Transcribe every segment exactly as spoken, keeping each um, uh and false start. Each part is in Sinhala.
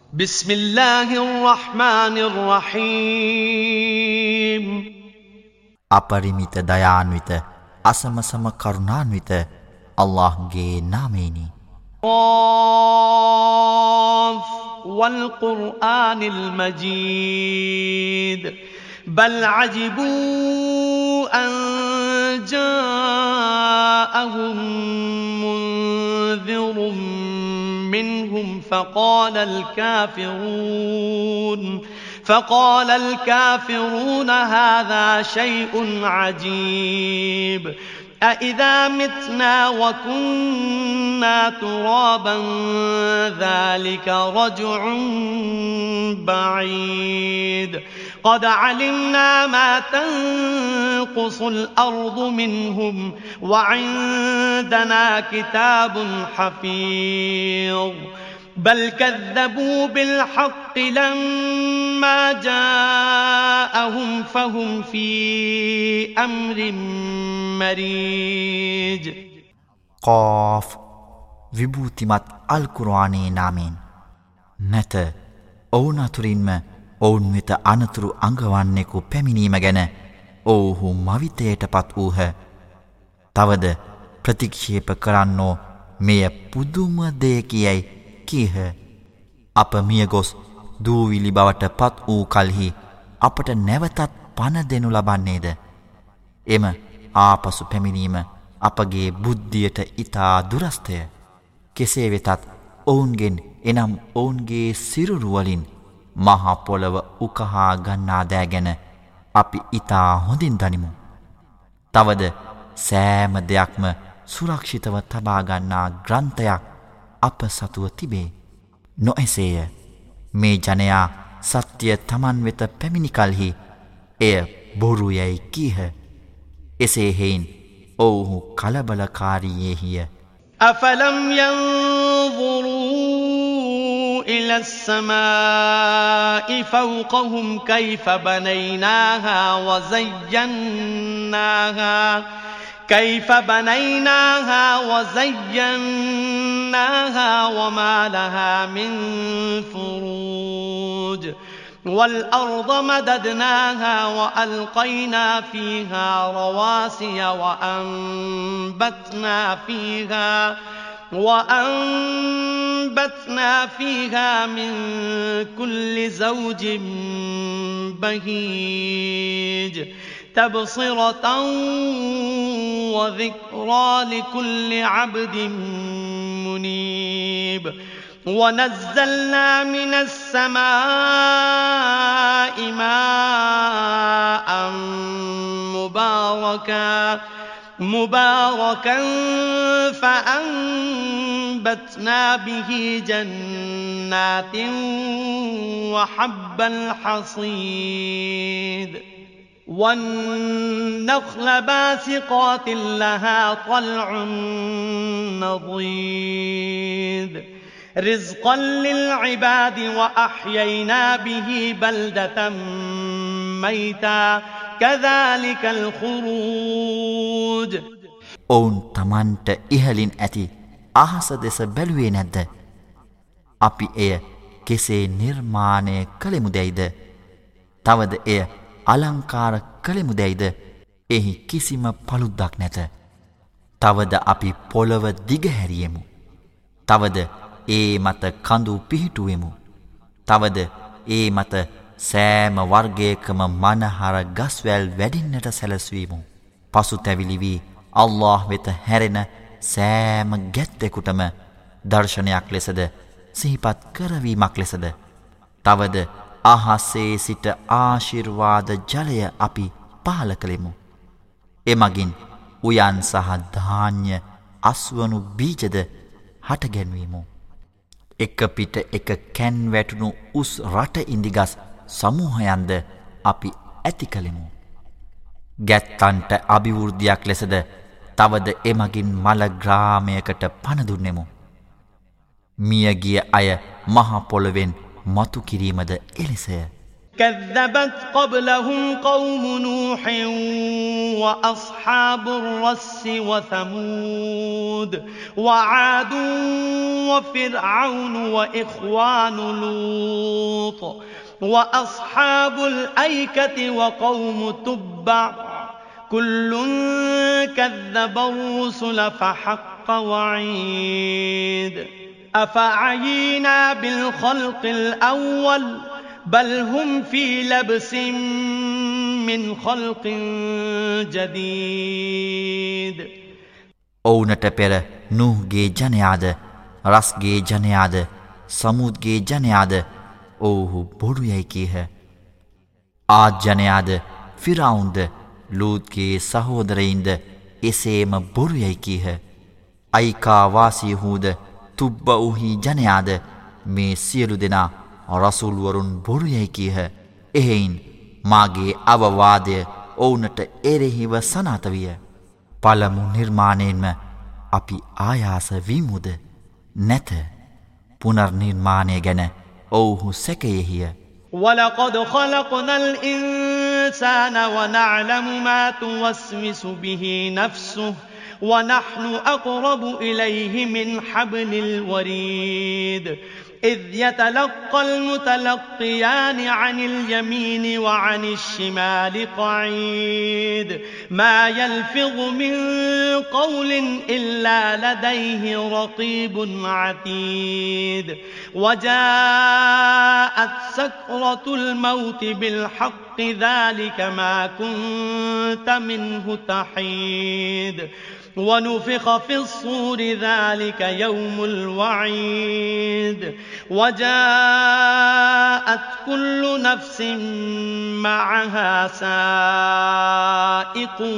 بسم الله الرحمن الرحيم අපරිමිත දයාන්විත අසමසම කරුණාන්විත අල්ලාහ්ගේ නාමයෙනි. قاف والقرآن المجيد بل عجبوا أن جاءهم منذر منهم فقال الكافرون فقال الكافرون هذا شيء عجيب أإذا متنا وكنا ترابا ذلك رجع بعيد قد علمنا ما تنقص الأرض منهم وعندنا كتاب حفيظ بل كذبوا بالحق لما جاءهم فهم في أمر مريج قاف විභූතිමත් අල් කුර්ආනයේ නාමයෙන් නැත ඔවුන් අතුරින්ම ඔවුන් වෙත අනතුරු අඟවන්නෙකු පැමිණීම ගැන ඔවුහු මවිතයටපත් වූහ. තවද ප්‍රතික්ෂේප කරන්නෝ මෙය පුදුම දෙයකියයි කීහ. අප මියගොස් දූවිලි බවට පත් වූ කල්හි අපට නැවතත් පණ දෙනු ලබන්නේද? එම ආපසු පැමිණීම අපගේ බුද්ධියට ඉතා දුරස්තය. කෙසේ වෙතත් ඔවුන්ගෙන් එනම් ඔවුන්ගේ සිරුරුවලින් මහා පොළව උකහා ගන්නා දෑ ගැන අපි ඉතා හොඳින් දනිමු. තවද සෑම දෙයක්ම සුරක්ෂිතව තබා ගන්නා ග්‍රන්ථයක් අප සතුව තිබේ. නොඑසේය මේ ජනයා සත්‍ය තමන් වෙත පැමිණි කල්හි එය බොරු යැයි කීහ. එසේ හේයින් ඔවුහු කලබලකාරීයෙහිය. أفلم ينظروا إلى السماء فوقهم كيف بنيناها وزيناها كيف بنيناها وزيناها وما لها من فروج والأرض مددناها وألقينا فيها رواسي وأنبتنا فيها وأنبتنا فيها من كل زوج بهيج تبصرة وذكرى لكل عبد منيب ونزلنا من السماء ماء مباركا مباركا فأنبتنا به جنات وحب الحصيد والنخل باسقات لها طلع نضيد رزقا للعباد وأحيينا به بلدة ميتا كذلك الخروج ඔවුන් තමන්ට ඉහලින් ඇති අහස දෙස බැලුවේ නැද්ද? අපි එය කෙසේ නිර්මාණය කළෙමුදැයිද? තවද එය අලංකාර කළෙමුදැයිද? එහි කිසිම පළුද්දක් නැත. තවද අපි පොළව දිගහැරියෙමු. තවද ඒ මත කඳු පිහිටුවෙමු. තවද ඒ මත සෑම වර්ගයකම මනහර ගස්වැල් වැඩින්නට සැලස්වීමු. පසුතැවිලි වී අල්ලාහ් වෙත හැරෙන සෑම ගැත්තෙකුටම දර්ශනයක් ලෙසද සිහිපත් කරවීමක් ලෙසද තවද අහසේ සිට ආශිර්වාද ජලය අපි පහල කළෙමු. එමගින් උයන් සහ ධාන්‍ය අස්වනු බීජද හටගැන්වීමු. එක පිට එක කැන් වැටුණු උස් රට ඉන්දිගස් සමූහයන්ද අපි ඇති කළෙමු. ගැත්තන්ට අභිවෘද්ධියක් ලෙසද තවද එමගින් මල ග්‍රාමයකට පණ දුන්නෙමු. මියගිය අය මහ පොළොවෙන් මතු කිරීමද එලෙසය. كذبت قبلهم قوم نوح وأصحاب الرس وثمود وعاد وفرعون وإخوان لوط وأصحاب الأيكة وقوم تبع كل كذب الرسل فحق وعيد أفعينا بالخلق الأول بل هم في لبس من خلق جديد. ඔවුනට පෙර නූහ්ගේ ජනයාද රස්ගේ ජනයාද සමුද්ගේ ජනයාද ඔවුහු බොරු යැයි කීහ. ආද් ජනයාද ෆිරාවුන්ද ලූත්ගේ සහෝදරයින්ද එසේම බොරු යැයි කීහ. අයිකා වාසියහුද තුබ්බඋහි ජනයාද මේ සියලු දෙනා රසූල්වරුන් බොරු යැයි කීහ. එහෙයින් මාගේ අවවාදය ඔවුනට එරෙහිව සනාත විය. පළමු නිර්මාණයෙන්ම අපි ආයාස වීමුද නැත. පුනර්නිර්මාණය ගැන ඔවුහු සැකයෙහිය. وَلَقَدْ خَلَقْنَا الْإِنسَانَ وَنَعْلَمُ مَا تُوَسْوِسُ بِهِ نَفْسُهُ وَنَحْنُ أَقْرَبُ إِلَيْهِ مِنْ حَبْلِ الْوَرِيدِ إِذْ يَتَلَقَّى الْمُتَلَقِّيَانِ عَنِ الْيَمِينِ وَعَنِ الشِّمَالِ قَعِيدٌ مَا يَلْفِظُ مِنْ قَوْلٍ إِلَّا لَدَيْهِ رَقِيبٌ عَتِيدٌ وَجَاءَتْ سَكْرَةُ الْمَوْتِ بِالْحَقِّ ذَلِكَ مَا كُنْتَ مِنْهُ تَحِيدُ ونفخ في الصور ذلك يوم الوعيد وجاءت كل نفس معها سائق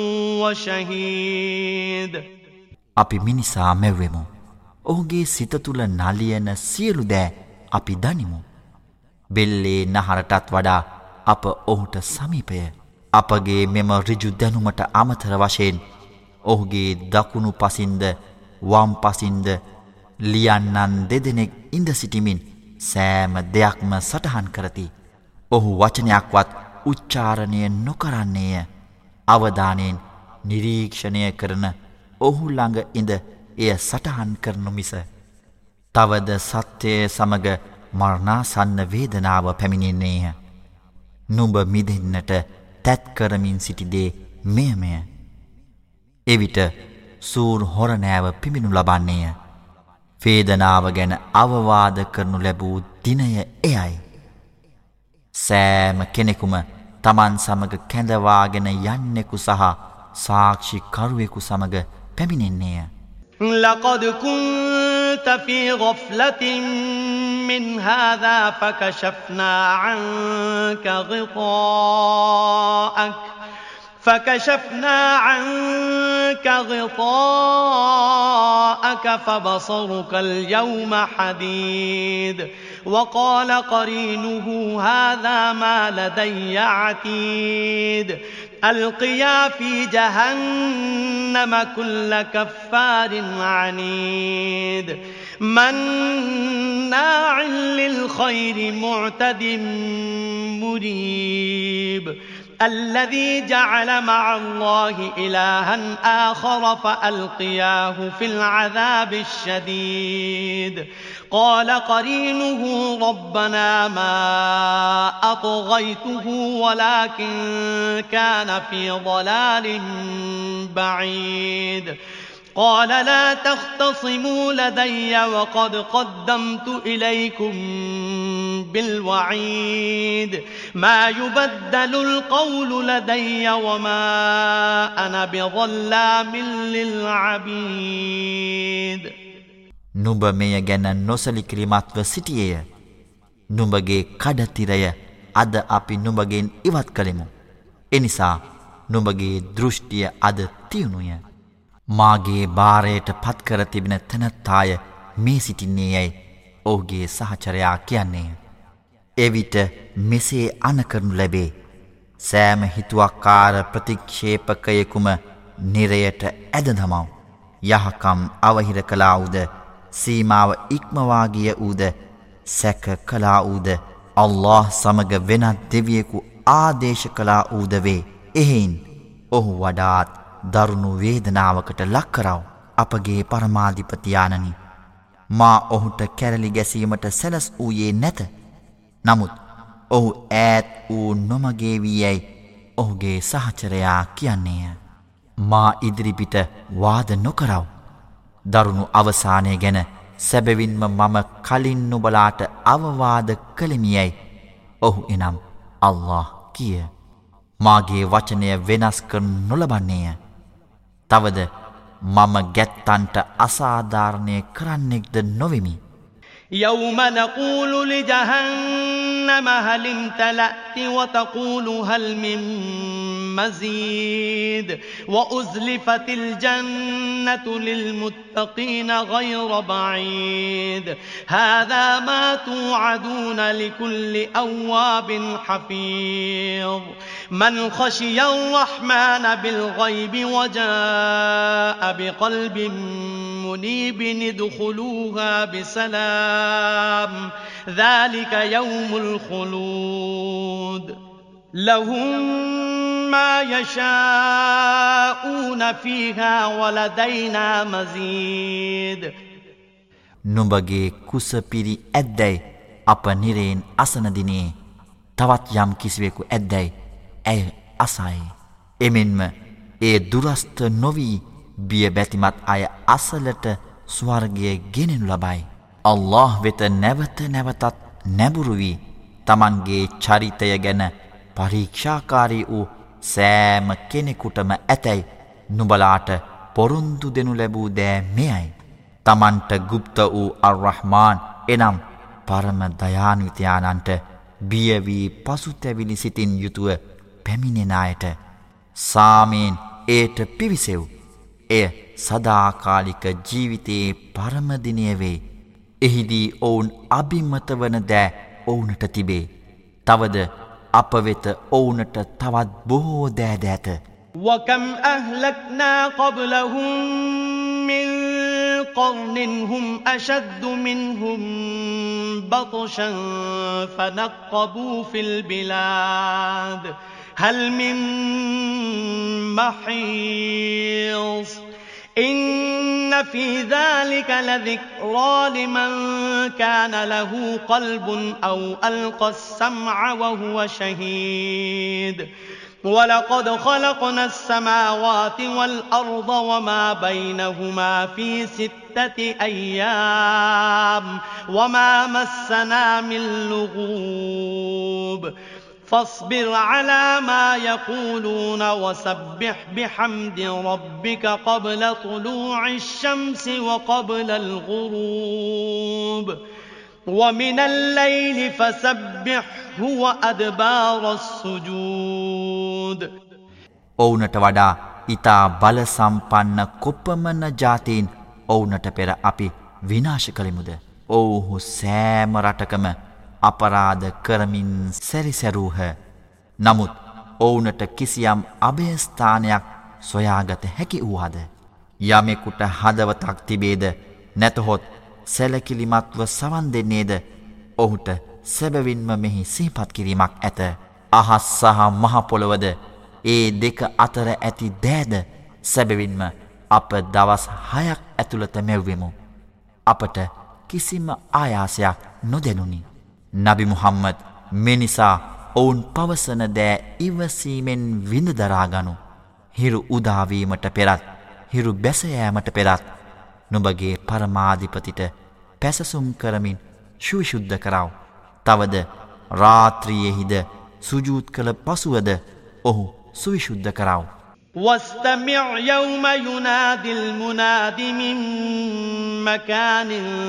وشهيد. අපි මිනිසා මැවෙමු. ඔහුගේ සිත තුළ නලියන සියලු දෑ අපි දනිමු. බෙල්ලේ නහරටත් වඩා අප ඔහුට සමීපය. අපගේ මෙම ඍජු දැනුමට අමතර වශයෙන් ඔහුගේ දකුණු පසින්ද වම් පසින්ද ලියන්නන් දෙදෙනෙක් ඉඳ සිටිමින් සෑම දෙයක්ම සටහන් කරති. ඔහු වචනයක්වත් උච්චාරණය නොකරන්නේය. අවධානයෙන් නිරීක්ෂණය කරන ඔහු ළඟ ඉඳ එය සටහන් කරනු මිස. තවද සත්‍යය සමග මරණාසන්න වේදනාව පැමිණෙන්නේය. නුඹ මිදෙන්නට තැත් කරමින් සිටිදේ මෙයමය. එවිට සූර් හොරනෑව පිමිනු ලබන්නේය. වේදනාව ගැන අවවාද කරනු ලැබූ දිනය එයයි. සෑම කෙනෙකුම තමන් සමග කැඳවාගෙන යන්නෙකු සහ සාක්ෂි කරුවෙකු සමග පැමිණෙන්නේය. لقد كنت في غفلة من هذا فكشفنا عنك غطاءك فكشفنا عنك غطاءك فبصرك اليوم حديد وقال قرينه هذا ما لدي عتيد ألقيا في جهنم كل كفار عنيد مناع للخير معتد مريب الذي جعل مع الله إلها آخر فألقياه في العذاب الشديد قال قرينه ربنا ما أطغيته ولكن كان في ضلال بعيد قال لا تختصموا لدي وقد قدمت إليكم بالوعيد ما يبدل القول لدي وما أنا بظلام للعبيد. නුඹ මෙය ගැන නොසලිකිරීමත්ව සිටියේය. නුඹගේ කඩතිරය අද අපි නුඹගෙන් ඉවත් කළෙමු. එනිසා නුඹගේ දෘෂ්ටිය අද තියුණුය. මාගේ බාරයට පත්කර තිබෙන තැනැත්තාය මේ සිටින්නේ යැයි ඔහුගේ සහචරයා කියන්නේය. එවිට මෙසේ අනකරනු ලැබේ. සෑම හිතුවක්කාර ප්‍රතික්ෂේපකයෙකුම නිරයට ඇද දමව්. යහකම් අවහිර කළා වූද සීමාව ඉක්මවාගිය වූද සැක කළා වූද අල්ලාහ් සමග වෙනත් දෙවියෙකු ආදේශ කළා වූද වේ. එහෙයින් ඔහු වඩාත් දරුණු වේදනාවකට ලක් කරව. අපගේ පරමාධිපති ආනනි, මා ඔහුට කැරලි ගැසීමට සැලස් වූයේ නැත. නමුත් ඔහු ඈත් වූ නොමගේ වී යැයි ඔහුගේ සහචරයා කියන්නේය. මා ඉදිරිපිට වාද නොකරව. දරුණු අවසානය ගැන සැබවින්ම මම කලින් නුබලාට අවවාද කළෙමි යැයි ඔහු එනම් අල්ලාහ් කිය. මාගේ වචනය වෙනස් කරනු නොලබන්නේය. තවද මම ගැත්තන්ට අසාධාරණය කරන්නෙක්ද නොවෙමි. يوم نقول لجهنم هل امتلأت وتقول هل من مزيد وأزلفت الجنة للمتقين غير بعيد هذا ما توعدون لكل أواب حفيظ من خشي الرحمن بالغيب وجاء بقلب منيب ادخلوها بسلام ذلك يوم الخلود لهم ما يشاءون فيها ولدينا مزيد නුඹගේ කුස පිරි ඇද්දැයි අප නිරයෙන් අසන දිනේ තවත් යම් කිසිවෙකු ඇද්දැයි ඇය අසයි. එමෙන්ම ඒ දුරස්ත නොවී බිය බැතිමත් අය අසලට ස්වර්ගය ගෙනෙනු ලබයි. අල්ලාහ් වෙත නැවත නැවතත් නැඹුරු වී තමන්ගේ චරිතය ගැන පරීක්ෂාකාරී වූ සෑම කෙනෙකුටම ඇතැයි නුබලාට පොරොන්දු දෙනු ලැබූ දෑ මෙයයි. තමන්ට ගුප්ත වූ අර්රහ්මාන් එනම් පරම දයාන්විතයානන්ට බිය වී පසුතැවිලි සිතින් යුතුව පැමිණෙන අයට සාමයෙන් ඒට පිවිසෙව්. එය සදාකාලික ජීවිතයේ පරමදිනය වේ. එහිදී ඔවුන් අභිමත වන දෑ ඔවුනට තිබේ. තවද අප වෙත ඔවුනට තවත් බොහෝ දෑ දෑත. وكم أهلكنا قبلهم من قرن هم أشد منهم بطشا فنقبوا في البلاد هل من محيص إن في ذلك لذكرى لمن كان له قلب أو ألقى السمع وهو شهيد ولقد خلقنا السماوات والأرض وما بينهما في ستة أيام وما مسنا من لغوب فاصبر على ما يقولون وسبح بحمد ربك قبل طلوع الشمس وقبل الغروب ومن الليل فسبحه وأدبار السجود ඔවුනට වඩා ඊතා බල සම්පන්න කොපමණ ජාතීන් ඔවුනට පෙර අපි විනාශ කළෙමුද? ඔව්හු සෑම රටකම අපරාධ කරමින් සැරිසැරූහ. නමුත් ඔවුනට කිසියම් අභයස්ථානයක් සොයාගත හැකි වූහද? යමෙකුට හදවතක් තිබේද නැතහොත් සැලකිලිමත්ව සවන් දෙන්නේද? ඔහුට සැබවින්ම මෙහි සිහිපත් කිරීමක් ඇත. අහස් සහ මහ පොළොවද ඒ දෙක අතර ඇති දෑද සැබවින්ම අප දවස් හයක් ඇතුළත මැව්වෙමු. අපට කිසිම ආයාසයක් නොදැනුනි. නබි මුහම්මද් මෙනිසා ඔවුන් පවසන දෑ ඉවසීමෙන් විඳ දරාගනු. හිරු උදාවීමට පෙරත් හිරු බැසයෑමට පෙරත් නුඹගේ පරමාධිපතිට පැසසුම් කරමින් ශුවිශුද්ධ කරව. තවද රාත්‍රියෙහිද සුජූත් කළ පසුවද ඔහු සුවිශුද්ධ කරව. واستمع يوم ينادي المناد من مكان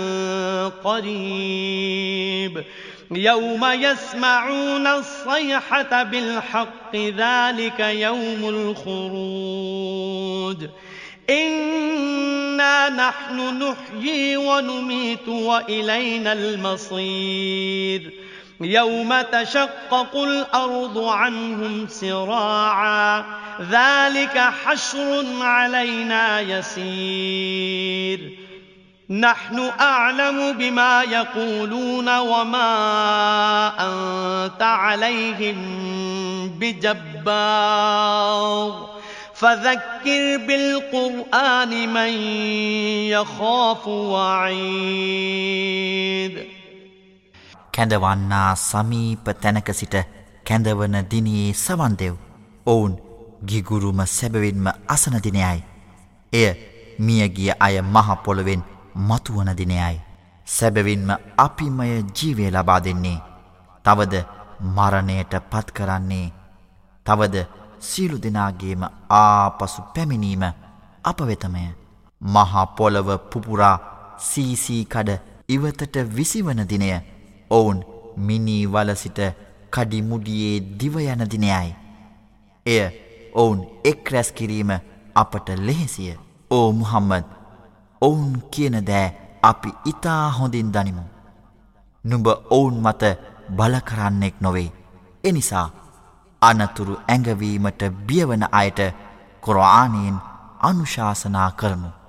قريب يوم يسمعون الصيحة بالحق ذلك يوم الخروج إنا نحن نحيي ونميت وإلينا المصير يوم تشقق الأرض عنهم سراعا ذلك حشر علينا يسير نحن أعلم بما يقولون وما أنت عليهم بجبار فذكر بالقرآن من يخاف وعيد කැඳවන්නා සමීප තැනක සිට කැඳවන දිනයේ සවන් දෙව්. ඔවුන් ගිගුරුම සැබවින්ම අසන දිනයයි. එය මියගිය අය මහ පොළොවෙන් මතුවන දිනයයි. සැබවින්ම අපිමය ජීවය ලබා දෙන්නේ. තවද මරණයට පත් කරන්නේ. තවද සියලු දෙනාගේම ආපසු පැමිණීම අප වෙතමය. මහා පොළව පුපුරා සීසී කඩ ඉවතට විසිවන දිනය ඔවුන් මිනී වල සිට කඩිමුඩියේ දිවයන දිනයයි. එය ඔවුන් එක් රැස් කිරීම අපට ලෙහෙසිය. ඕ මුහම්මද්, ඔවුන් කියන දෑ අපි ඉතා හොඳින් දනිමු. නුඹ ඔවුන් මත බල කරන්නෙක් නොවේ. එනිසා අනතුරු ඇඟවීමට බියවන අයට කුර්ආනයෙන් අනුශාසනා කරමු.